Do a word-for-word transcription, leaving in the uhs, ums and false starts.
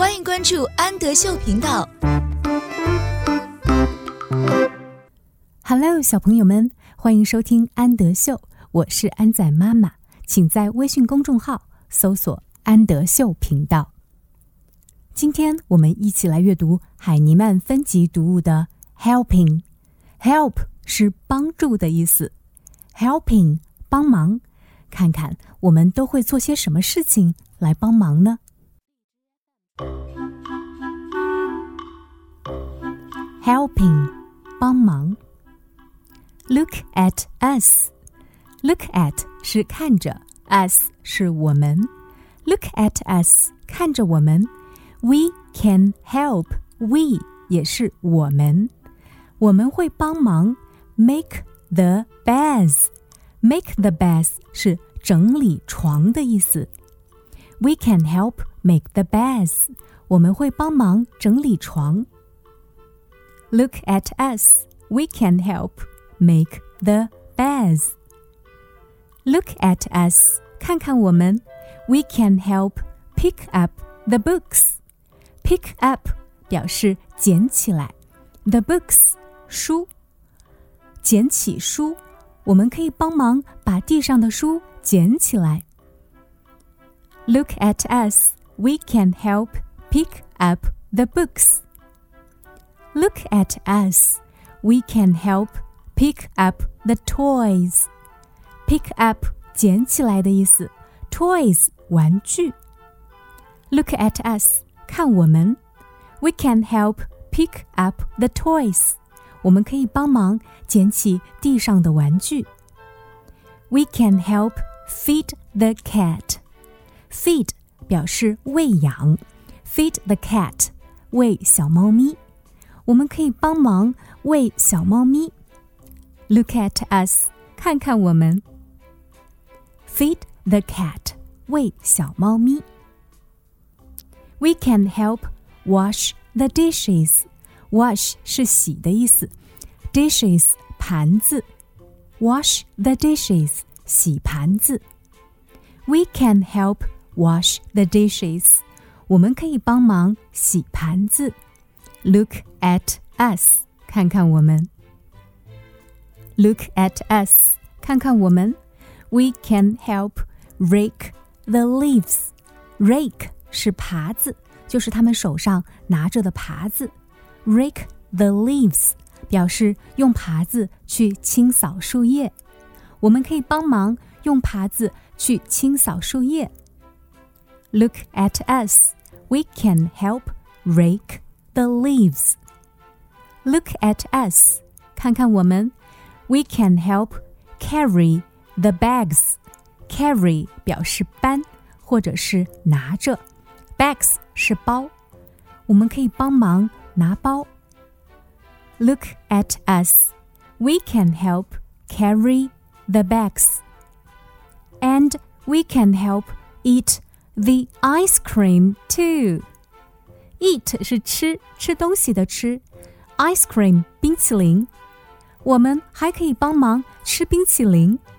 欢迎关注安德秀频道。 Hello， 小朋友们，欢迎收听安德秀，我是安仔妈妈，请在微信公众号搜索安德秀频道。今天我们一起来阅读海尼曼分级读物的 Helping。Help 是帮助的意思 ，Helping 帮忙，看看我们都会做些什么事情来帮忙呢？ Helping 帮忙。Look at us. Look at 是看着 us 是我们 Look at us 看着我们 We can help. We 也是我们我们会帮忙 Make the beds. Make the beds 是整理床的意思 We can help make the beds. 我们会帮忙整理床 Look at us. We can help make the beds. Look at us. 看看我们 We can help pick up the books. Pick up 表示捡起来 The books 书捡起书我们可以帮忙把地上的书捡起来 Look at us. We can help pick up the books. Look at us. We can help pick up the toys. Pick up 捡起来的意思 Toys 玩具 Look at us 看我们 We can help pick up the toys 我们可以帮忙捡起地上的玩具 We can help feed the cat. Feed 表示喂养 Feed the cat 喂小猫咪我们可以帮忙喂小猫咪Look at us. 看看我们 Feed the cat. 喂小猫咪 We can help wash the dishes. Wash 是洗的意思 Dishes 盘子 Wash the dishes. 洗盘子 We can help wash the dishes. 我们可以帮忙洗盘子 Look at us. 看看我们Look at us. 看看我们 We can help rake the leaves. Rake 是耙子就是他们手上拿着的耙子 Rake the leaves 表示用耙子去清扫树叶我们可以帮忙用耙子去清扫树叶 Look at us. We can help rake the leaves. Look at us. 看看我们We can help carry the bags. Carry 表示搬或者是拿着 Bags 是包我们可以帮忙拿包 Look at us. We can help carry the bags. And we can help eat the ice cream too. Eat 是吃吃东西的吃 Ice cream 冰淇淋我们还可以帮忙吃冰淇淋